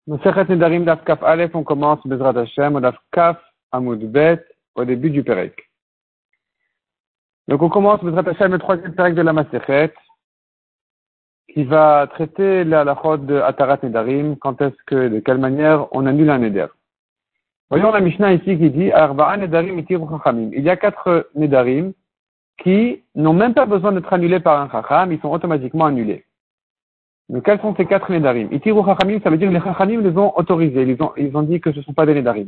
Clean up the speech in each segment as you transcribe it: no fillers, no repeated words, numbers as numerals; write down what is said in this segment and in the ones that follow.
Masechet Nedarim Daf Kaf Aleph, on commence Bezrat Hashem, au Daf Kaf Amud Bet, au début du Perek. Donc on commence Bezrat Hashem, le troisième Perek de la Masechet, qui va traiter la halachot de Atarat Nedarim, quand est-ce que, de quelle manière on annule un Neder. Voyons la Mishnah ici qui dit, Arba'a Nedarim itiru Chachamim. Il y a 4 Nedarim qui n'ont même pas besoin d'être annulés par un Chacham, ils sont automatiquement annulés. Donc, quels sont ces 4 Nedarim? Itiru Chachamim, ça veut dire que les Chachamim les ont autorisés. Ils ont dit que ce ne sont pas des Nedarim.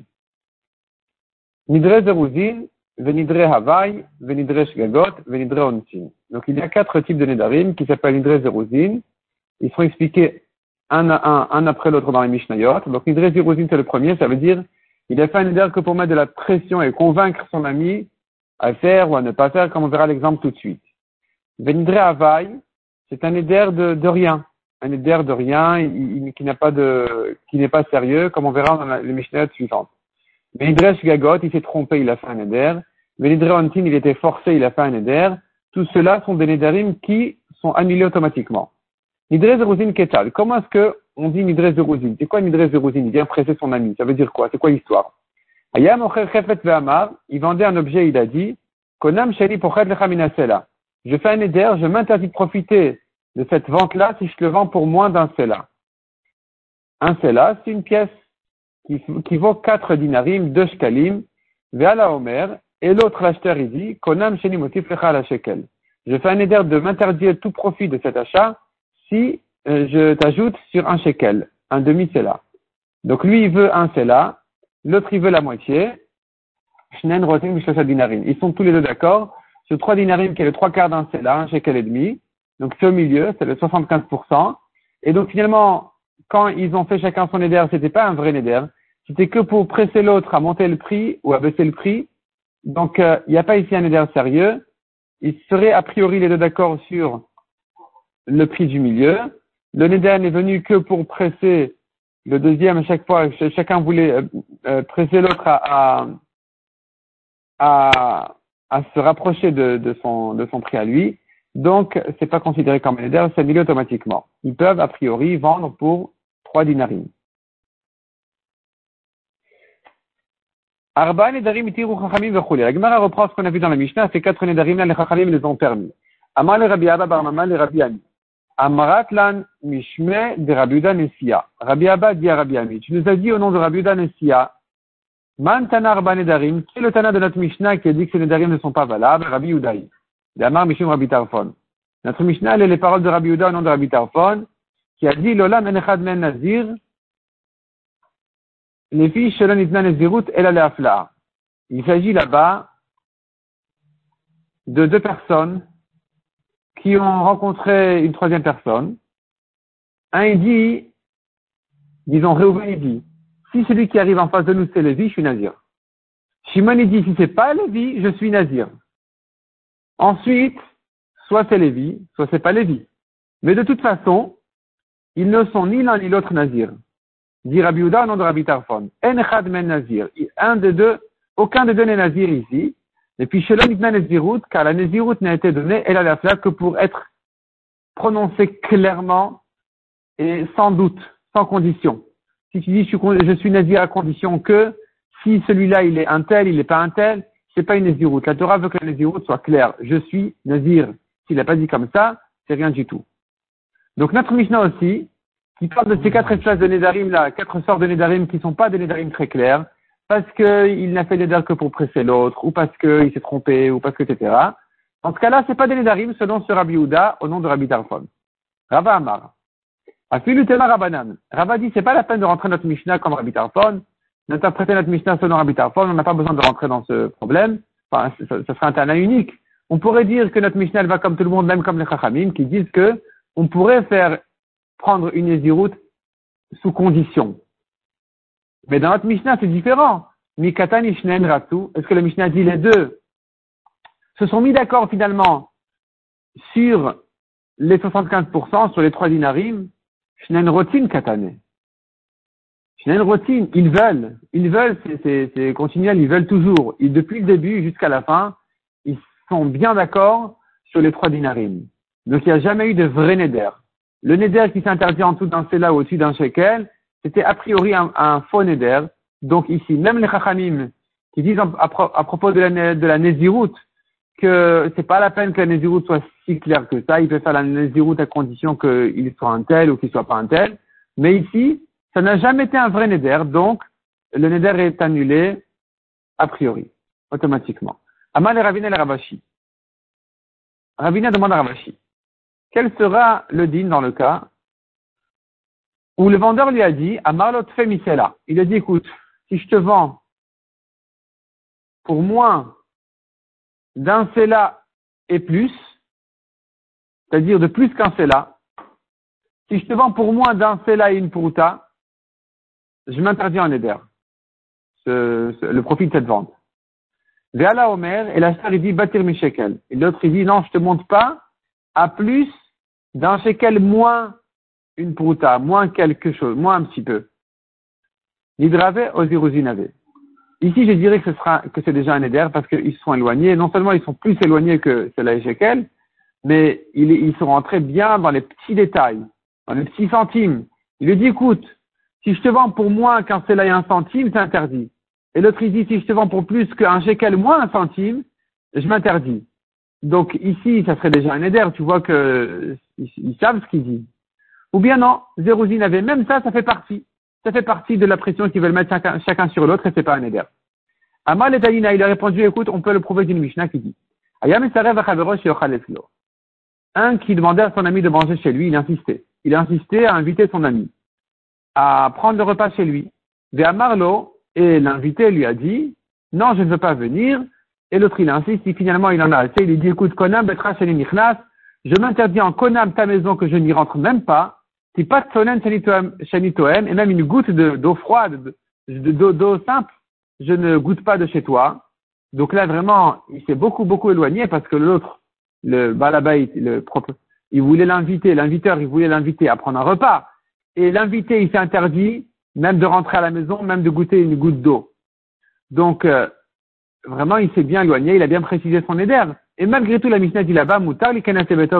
Nidre Zeruzin, Venidre Havai, Venidre Shgagot, Venidre Onsin. Donc, il y a 4 types de Nedarim qui s'appellent Nidre Zeruzin. Ils sont expliqués un après l'autre dans les Mishnayot. Donc, Nidre Zeruzin, c'est le premier. Ça veut dire, il a fait un Neder que pour mettre de la pression et convaincre son ami à faire ou à ne pas faire, comme on verra l'exemple tout de suite. Venidre Havai, c'est un Neder de rien. Un éder de rien, qui n'est pas sérieux, comme on verra dans les Mishnayot suivantes. Venidre Shgagot, il s'est trompé, il a fait un éder. Venidre Ontin, il était forcé, il a fait un éder. Tout cela sont des Nedarim qui sont annulés automatiquement. Nidre Zeruzin Ketal. Comment est-ce que on dit Nidre Zeruzin? C'est quoi Nidre Zeruzin? Il vient presser son ami. Ça veut dire quoi? C'est quoi l'histoire? Ayam Ocher Chefet Ve'amar, il vendait un objet, il a dit, Konam Sheli Pochet Lecha Minasela. Je fais un éder, je m'interdis de profiter de cette vente-là si je te le vends pour moins d'un sela. Un sela, c'est une pièce qui vaut 4 dinarim, 2 shkalim, ve'ala omer, et l'autre l'acheteur, il dit, konam sheni motif lecha la shekel. Je fais un éder de m'interdire tout profit de cet achat si je t'ajoute sur un shekel, un demi-sela. Donc lui, il veut un sela, l'autre, il veut la moitié, shnen rotim b'shlosha dinarim. Ils sont tous les deux d'accord sur 3 dinarim qui est le 3/4 d'un sela, un shekel et demi. Donc c'est au milieu, c'est le 75%. Et donc finalement, quand ils ont fait chacun son éder, c'était pas un vrai éder. C'était que pour presser l'autre à monter le prix ou à baisser le prix. Donc il n'y a pas ici un éder sérieux. Ils seraient a priori les deux d'accord sur le prix du milieu. Le éder n'est venu que pour presser le deuxième à chaque fois. Chacun voulait presser l'autre à se rapprocher de son prix à lui. Donc, c'est pas considéré comme un éder, c'est annulé automatiquement. Ils peuvent, a priori, vendre pour 3 dinarim. Arba nedarim itiru chachamim v'chule. La Gemara reprend ce qu'on a vu dans la Mishnah, ces 4 nedarim là, les chachamim les ont permis. Amar le Rabbi Abba bar Mama le Rabbi Ami. Amarat lan mishme de Rabbi Uda Nessia. Rabbi Abba dit à Rabbi Ami, tu nous as dit au nom de Rabbi Uda Nessia, man tana arba nedarim, qui est le tana de notre Mishnah qui a dit que ces nedarim ne sont pas valables? Rabbi Udaï. D'Amar Mishum Rabbi Tarfon. Notre Mishnah, elle est les paroles de Rabbi Uda au nom de Rabbi Tarfon, qui a dit, Lola menechad men nazir, les filles shelon itna nezirut el aleafla. Il s'agit là-bas de 2 personnes qui ont rencontré une 3e personne. Un, il dit, disons, Réhouven, il dit, si celui qui arrive en face de nous, c'est Lévi, je suis nazir. Shimon, il dit, si c'est pas Lévi, je suis nazir. Ensuite, soit c'est Lévi, soit c'est pas Lévi. Mais de toute façon, ils ne sont ni l'un ni l'autre nazir. Dit Rabbi Uda au nom de Rabbi Tarfon. En echad men nazir. Aucun des deux n'est nazir ici. Et puis, shelon itna nezirut, car la nezirut n'a été donnée, elle a la flaque que pour être prononcée clairement et sans doute, sans condition. Si tu dis je suis nazir à condition que, si celui-là il est un tel, il n'est pas un tel, c'est pas une nazirut. La Torah veut que la nazirut soit claire. Je suis nazir. S'il n'a pas dit comme ça, c'est rien du tout. Donc notre Mishnah aussi, qui parle de ces 4 espèces de Nedarim là, 4 sortes de Nedarim qui sont pas des Nedarim très clairs, parce qu'il n'a fait Nedar que pour presser l'autre, ou parce qu'il s'est trompé, ou parce que etc. Dans ce cas-là, c'est pas des Nedarim selon ce Rabbi Uda au nom de Rabbi Tarfon. Rava Amar. Afilu Tema Rabanan. Rava dit, c'est pas la peine de rentrer notre Mishnah comme Rabbi Tarfon, d'interpréter notre Mishnah selon Rabbi Tarfon, on n'a pas besoin de rentrer dans ce problème. Enfin, ça serait un tana unique. On pourrait dire que notre Mishnah elle va comme tout le monde, même comme les Chachamim, qui disent que on pourrait prendre une Nézirut sous condition. Mais dans notre Mishnah, c'est différent. Mikatan Ishnen Ratsu. Est-ce que le Mishnah dit les deux se sont mis d'accord finalement sur les 75%, sur les 3 dinarim? Shnen Rotin Katane. Shnen Rotin, ils veulent, c'est continuel, ils veulent toujours. Et depuis le début jusqu'à la fin, ils sont bien d'accord sur les 3 dinarim. Donc il n'y a jamais eu de vrai neder. Le neder qui s'interdit en dessous d'un sela ou au-dessus d'un shekel, c'était a priori un faux neder. Donc ici, même les chachamim qui disent à propos de la Nézirut que c'est pas la peine que la Nézirut soit si claire que ça, il peut faire la Nézirut à condition qu'il soit un tel ou qu'il soit pas un tel. Mais ici, ça n'a jamais été un vrai neder, donc le neder est annulé a priori, automatiquement. Amal et Ravina et Ravashi. Ravina demande à Ravashi, quel sera le din dans le cas où le vendeur lui a dit, Amarlot Femisela, il a dit, écoute, si je te vends pour moins d'un sela et plus, c'est-à-dire de plus qu'un sela, si je te vends pour moins d'un sela et une pruta, je m'interdis en éder, le profit de cette vente. Ve'ala Omer, et l'acheteur il dit, Batir mi shekel. Et l'autre il dit, non, je te monte pas à plus d'un shekel moins une pruta, moins quelque chose, moins un petit peu. Nidrave oziruzinave. Ici, je dirais que c'est déjà un éder parce qu'ils sont éloignés. Non seulement ils sont plus éloignés que cela et shekel, mais ils sont rentrés bien dans les petits détails, dans les petits centimes. Il lui dit, écoute, si je te vends pour moins qu'un cela et un centime, c'est interdit. Et l'autre, il dit, si je te vends pour plus qu'un shekel moins un centime, je m'interdis. Donc ici, ça serait déjà un éder. Tu vois que ils savent ce qu'ils disent. Ou bien non, Zérouzine avait même ça, ça fait partie. Ça fait partie de la pression qu'ils veulent mettre chacun sur l'autre et c'est pas un éder. Amal et Talina, il a répondu, écoute, on peut le prouver d'une Mishnah qui dit, Ayam esarev achaverosh yochal eflo. Un qui demandait à son ami de manger chez lui, il insistait. Il a insisté à inviter son ami à prendre le repas chez lui. Ve'amarlo, et l'invité lui a dit, non, je ne veux pas venir. Et l'autre, il insiste, et finalement, il en a assez. Il lui dit, écoute, konam betra sheni nichnas, je m'interdis en konam ta maison que je n'y rentre même pas. Si pas de sonen sheni toem, et même une goutte d'eau froide, d'eau simple, je ne goûte pas de chez toi. Donc là, vraiment, il s'est beaucoup éloigné parce que l'autre, le balabait, il voulait l'inviteur, il voulait l'inviter à prendre un repas. Et l'invité, il s'est interdit même de rentrer à la maison, même de goûter une goutte d'eau. Donc, vraiment, il s'est bien éloigné, il a bien précisé son éder. Et malgré tout, la Mishnah dit là-bas, Moutar, il a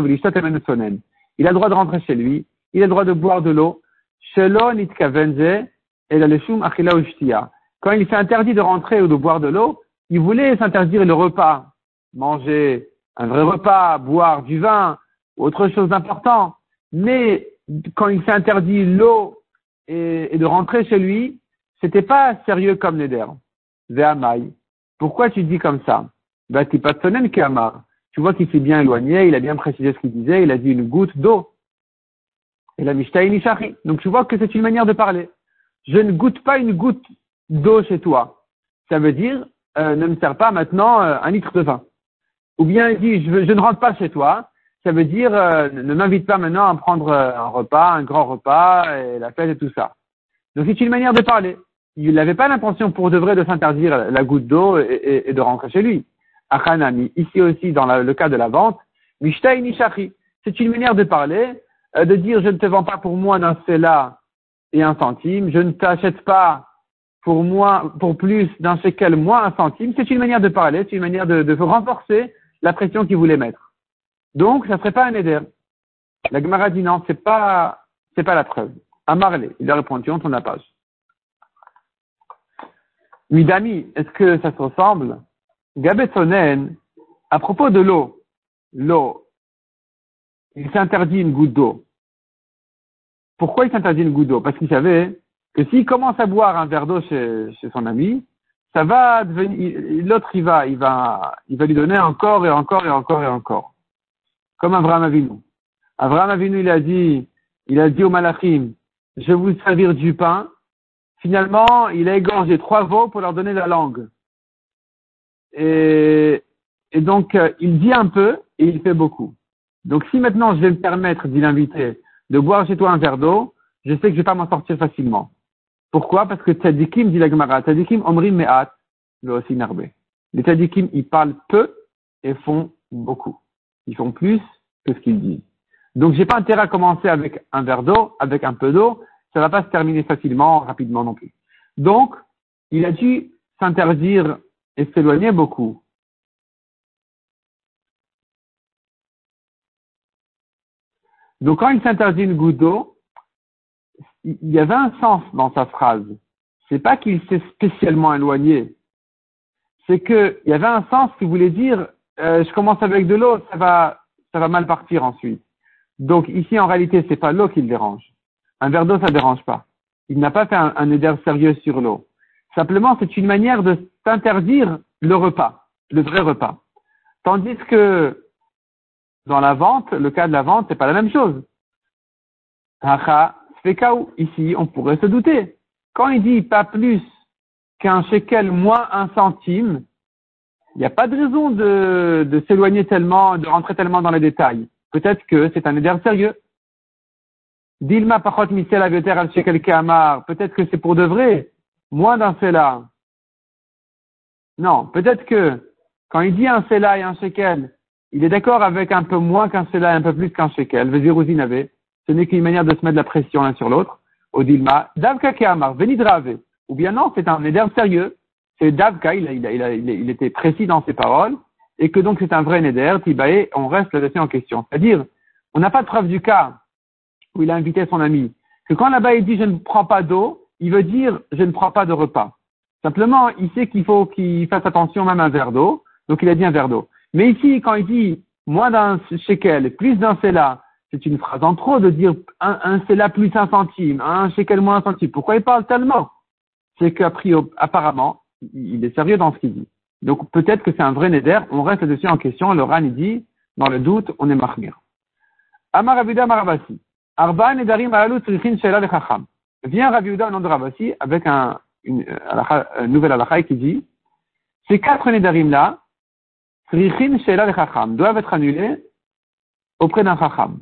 le droit de rentrer chez lui, il a le droit de boire de l'eau. Shelo nitkavenze, et la leshum achila ushtia. Quand il s'est interdit de rentrer ou de boire de l'eau, il voulait s'interdire le repas, manger un vrai repas, boire du vin, autre chose d'important. Mais quand il s'est interdit l'eau et de rentrer chez lui, c'était pas sérieux comme neder. Ve'amai. Pourquoi tu dis comme ça? Bah, t'es pas sonen qu'amar. Tu vois qu'il s'est bien éloigné, il a bien précisé ce qu'il disait, il a dit une goutte d'eau. Et la mishta inishari. Donc tu vois que c'est une manière de parler. Je ne goûte pas une goutte d'eau chez toi. Ça veut dire, ne me sers pas maintenant un litre de vin. Ou bien il dit, je ne rentre pas chez toi. Ça veut dire, ne m'invite pas maintenant à prendre un repas, un grand repas, et la fête et tout ça. Donc c'est une manière de parler. Il n'avait pas l'intention pour de vrai de s'interdire la goutte d'eau et de rentrer chez lui. Achanami, ici aussi dans le cas de la vente, Mishtai Nishari, c'est une manière de parler, de dire je ne te vends pas pour moins d'un sela et un centime, je ne t'achète pas pour plus d'un shekel moins un centime, c'est une manière de parler, c'est une manière de renforcer la pression qu'il voulait mettre. Donc, ça serait pas un éder. La Gemara dit non, c'est pas la preuve. Amarle, il a répondu, on tourne la page. Midami, est-ce que ça se ressemble? Gabetsonen, à propos de l'eau, il s'interdit une goutte d'eau. Pourquoi il s'interdit une goutte d'eau? Parce qu'il savait que s'il commence à boire un verre d'eau chez son ami, ça va devenir, l'autre il va lui donner encore et encore et encore et encore. Comme Avraham Avinu. Avraham Avinu, il a dit au Malachim, je vais vous servir du pain. Finalement, il a égorgé 3 veaux pour leur donner la langue. Et donc, il dit un peu et il fait beaucoup. Donc, si maintenant je vais me permettre d'y l'inviter de boire chez toi un verre d'eau, je sais que je vais pas m'en sortir facilement. Pourquoi? Parce que tzadikim, dit la Gemara, tzadikim omrim me'at, le aussi narbe. Les tzadikim, ils parlent peu et font beaucoup. Ils font plus que ce qu'ils disent. Donc, j'ai pas intérêt à commencer avec un verre d'eau, avec un peu d'eau, ça va pas se terminer facilement, rapidement non plus. Donc, il a dû s'interdire et s'éloigner beaucoup. Donc, quand il s'interdit une goutte d'eau, il y avait un sens dans sa phrase. C'est pas qu'il s'est spécialement éloigné. C'est que il y avait un sens qui voulait dire, je commence avec de l'eau, ça va mal partir ensuite. Donc ici, en réalité, c'est pas l'eau qui le dérange. Un verre d'eau, ça dérange pas. Il n'a pas fait un éder sérieux sur l'eau. Simplement, c'est une manière de s'interdire le repas, le vrai repas. Tandis que dans la vente, le cas de la vente, c'est pas la même chose. Hacha, Svekaou. Ici, on pourrait se douter. Quand il dit pas plus qu'un shekel moins un centime, il n'y a pas de raison de s'éloigner tellement, de rentrer tellement dans les détails. Peut-être que c'est un éder sérieux. Dilma pachot misel avioter al shekel ke'amar. Peut-être que c'est pour de vrai. Moins d'un sela. Non, peut-être que quand il dit un sela et un shekel, il est d'accord avec un peu moins qu'un sela et un peu plus qu'un shekel. Vezirouzin avait. Ce n'est qu'une manière de se mettre de la pression l'un sur l'autre. Au Dilma, Davka ke'amar, venidrave. Ou bien non, c'est un éder sérieux. C'est Davka, il était précis dans ses paroles. Et que donc c'est un vrai neder, Tibaé, on reste là-dessus en question. C'est-à-dire, on n'a pas de preuve du cas où il a invité son ami. Que quand là-bas il dit je ne prends pas d'eau, il veut dire je ne prends pas de repas. Simplement, il sait qu'il faut qu'il fasse attention même à un verre d'eau, donc il a dit un verre d'eau. Mais ici, quand il dit moins d'un shekel, plus d'un sela, c'est une phrase en trop de dire un sela plus un centime, un shekel moins un centime. Pourquoi il parle tellement? C'est qu'apparemment, il est sérieux dans ce qu'il dit. Donc peut-être que c'est un vrai neder, on reste là-dessus en question, le Ran il dit, dans le doute, on est mahmir. Amar Raviuda Maravasi. Arba nedarim alalu tzrichin sheila lechacham. Vient Raviuda au nom de Ravasi avec une nouvelle halakha qui dit, ces 4 nedarim là, tzrichin sheila lechacham, doivent être annulés auprès d'un chacham.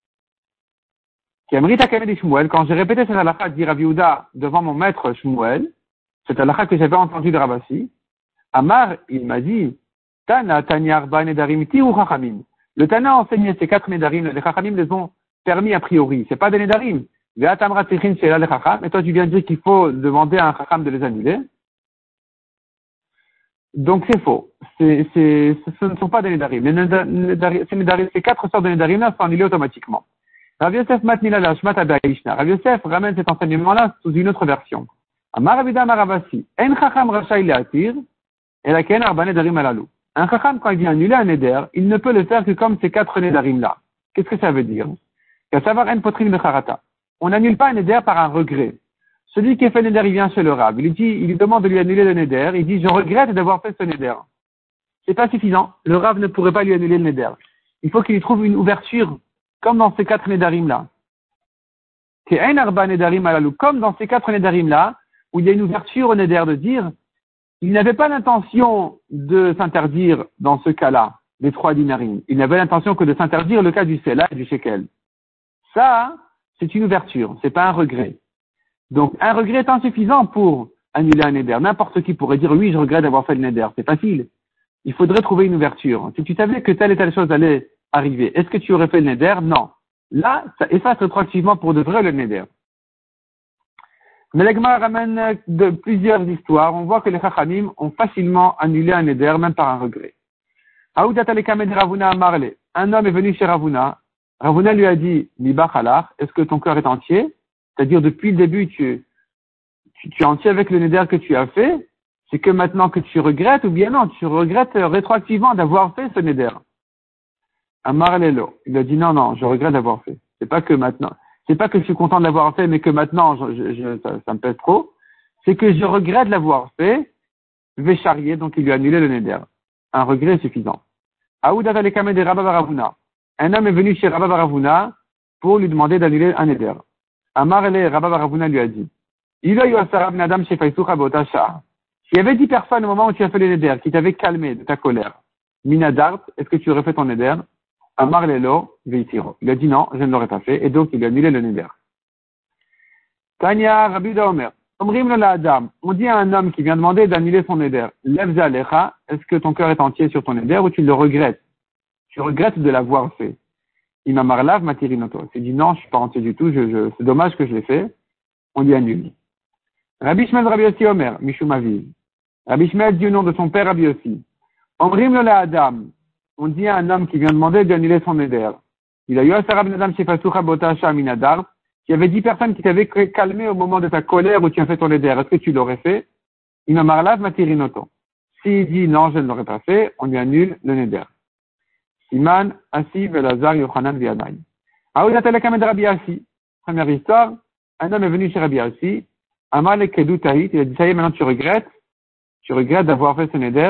Quand j'ai répété cette halakha, dit Raviuda devant mon maître Shmuel, cette halakha que j'avais entendue de Ravasi, Amar, il m'a dit, Tana, Tanya, Arba, Nedarim, Tiru, Chachamim. Le Tana a enseigné ces 4 Nedarim, les Chachamim les ont permis a priori. C'est pas des Nedarim. Ve'atamra Tichin, c'est là les Chacham. Et toi, tu viens de dire qu'il faut demander à un Chacham de les annuler. Donc, c'est faux. Ce ne sont pas des Nedarim. Ces 4 sortes de Nedarim là sont annulés automatiquement. Rav Yosef Matnila Lashmat Abaishna. Rav Yosef ramène cet enseignement-là sous une autre version. Amar Abida Maravasi. En Chacham Rachai Leatir. Et la ken arba nedarim alalou. Un chacham, quand il vient annuler un neder, il ne peut le faire que comme ces 4 nedarim là. Qu'est-ce que ça veut dire? Qu'à savoir en potrin becharata. On n'annule pas un neder par un regret. Celui qui a fait le neder, il vient chez le rab. Il lui demande de lui annuler le neder. Il dit, je regrette d'avoir fait ce neder. C'est pas suffisant. Le rab ne pourrait pas lui annuler le neder. Il faut qu'il lui trouve une ouverture, comme dans ces 4 nedarim là. Qu'en arba nedarim alalou. Comme dans ces 4 nedarim là, où il y a une ouverture au neder de dire, il n'avait pas l'intention de s'interdire dans ce cas-là, des 3 dinarim. Il n'avait l'intention que de s'interdire le cas du sela et du shekel. Ça, c'est une ouverture, c'est pas un regret. Donc, un regret est insuffisant pour annuler un neder. N'importe qui pourrait dire, oui, je regrette d'avoir fait le neder. C'est facile. Il faudrait trouver une ouverture. Si tu savais que telle et telle chose allait arriver, est-ce que tu aurais fait le neder? Non. Là, ça efface rétroactivement pour de vrai le neder. Mais l'Agma ramène de plusieurs histoires. On voit que les Chachamim ont facilement annulé un neder, même par un regret. Un homme est venu chez Ravuna. Ravuna lui a dit, Miba Chalach, est-ce que ton cœur est entier? C'est-à-dire, depuis le début, tu es entier avec le neder que tu as fait. C'est que maintenant que tu regrettes, ou bien non, tu regrettes rétroactivement d'avoir fait ce neder. Amar Lelo. Il a dit, non, je regrette d'avoir fait. C'est pas que maintenant. C'est pas que je suis content de l'avoir fait, mais que maintenant, ça me pèse trop. C'est que je regrette de l'avoir fait. Vécharier, donc il lui a annulé le neder. Un regret suffisant. Aoudat alekame de Rabba Baravuna. Un homme est venu chez Rabba Baravuna pour lui demander d'annuler un neder. Amarele, Rabba Baravuna lui a dit, s'il y avait 10 personnes au moment où tu as fait le neder, qui t'avaient calmé de ta colère, minadart, est-ce que tu aurais fait ton neder? Amar Lelo, Veitiro. Il a dit non, je ne l'aurais pas fait, et donc il a annulé le neder. Tanya Rabbi Omer. Omrim la Adam. On dit à un homme qui vient demander d'annuler son neder. Levza Alecha, est-ce que ton cœur est entier sur ton neder ou tu le regrettes? Tu regrettes de l'avoir fait. Imamar Lav Matirinoto. Il dit non, je suis pas entier du tout, c'est dommage que je l'ai fait. On lui annule. Rabbi Shmuel Rabbi Yossi Omer, Mishum Aviv. Rabbi Shmuel dit au nom de son père Rabbi Yossi. Omrim la Adam. On dit à un homme qui vient demander d'annuler son neder. Il a eu un sarab nadam shefasucha botasha minadar. S'il y avait 10 personnes qui t'avaient calmé au moment de ta colère où tu as fait ton éder, est-ce que tu l'aurais fait? Imamarlav matirinoto. S'il dit non, je ne l'aurais pas fait, on lui annule le neder. Siman, Asi, Belazar, Yochanan, Viadai. Aoudatalakamed Rabbi Asi. Première histoire, un homme est venu chez Rabbi Asi. Amal Kedou Tahit, il a dit, ça y est, maintenant tu regrettes d'avoir fait ce neder.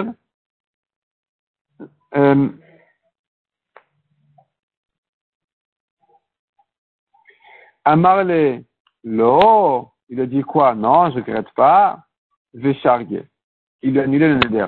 Amarle, lo, il a dit quoi? Non, je regrette pas. Veshargue. Il lui a annulé le neder.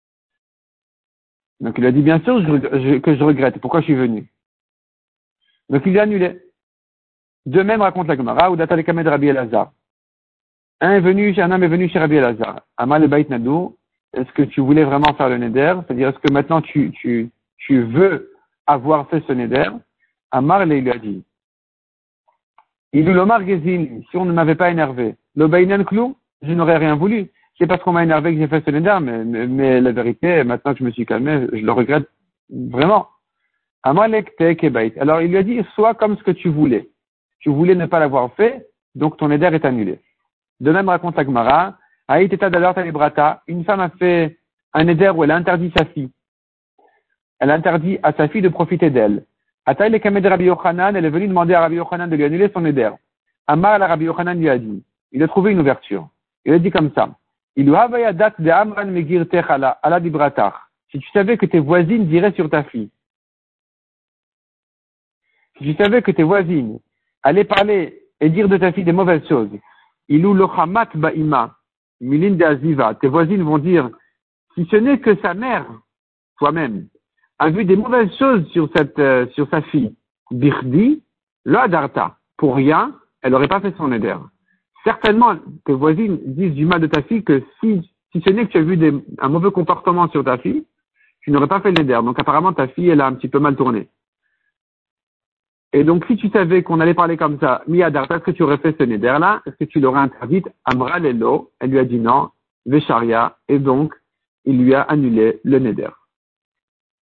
Donc il a dit, bien sûr, que je regrette. Pourquoi je suis venu? Donc il lui a annulé. De même, raconte la Gemara, ou Datalekamed Rabbi Elazar. Un homme est venu chez Rabbi Elazar. Amal le Bait Nadou. Est-ce que tu voulais vraiment faire le neder? C'est-à-dire, est-ce que maintenant tu veux avoir fait ce neder? Amar il lui a dit. Il l'omar gezin, si on ne m'avait pas énervé. Le Bainan Klou, je n'aurais rien voulu. C'est parce qu'on m'a énervé que j'ai fait ce neder, mais la vérité, maintenant que je me suis calmé, je le regrette vraiment. Amalek Tekebait. Alors il lui a dit, sois comme ce que tu voulais. Tu voulais ne pas l'avoir fait, donc ton neder est annulé. De même, raconte la Gemara, Aïteta d'alors Talibrata, une femme a fait un neder où elle a interdit sa fille. Elle a interdit à sa fille de profiter d'elle. Ataï le Kamed Rabbi Yochanan, elle est venue demander à Rabbi Yochanan de lui annuler son neder. Amar la Rabbi Yochanan lui a dit, il a trouvé une ouverture. Il a dit comme ça, il havaya dat de Amran Megir Techala, ala Dibratar. Si tu savais que tes voisines diraient sur ta fille. Si tu savais que tes voisines allaient parler et dire de ta fille des mauvaises choses, ilou lochamat ba'ima, milin de aziva, tes voisines vont dire, si ce n'est que sa mère, toi-même, a vu des mauvaises choses sur sa fille, birdi, lo adarta, pour rien, elle n'aurait pas fait son éder. Certainement, tes voisines disent du mal de ta fille que si ce n'est que tu as vu un mauvais comportement sur ta fille, tu n'aurais pas fait le neder. Donc apparemment, ta fille, elle a un petit peu mal tourné. Et donc, si tu savais qu'on allait parler comme ça, Miadarta, est-ce que tu aurais fait ce neder-là? Est-ce que tu l'aurais interdite? Amra Lelo, elle lui a dit non, Vesharia, et donc, il lui a annulé le neder.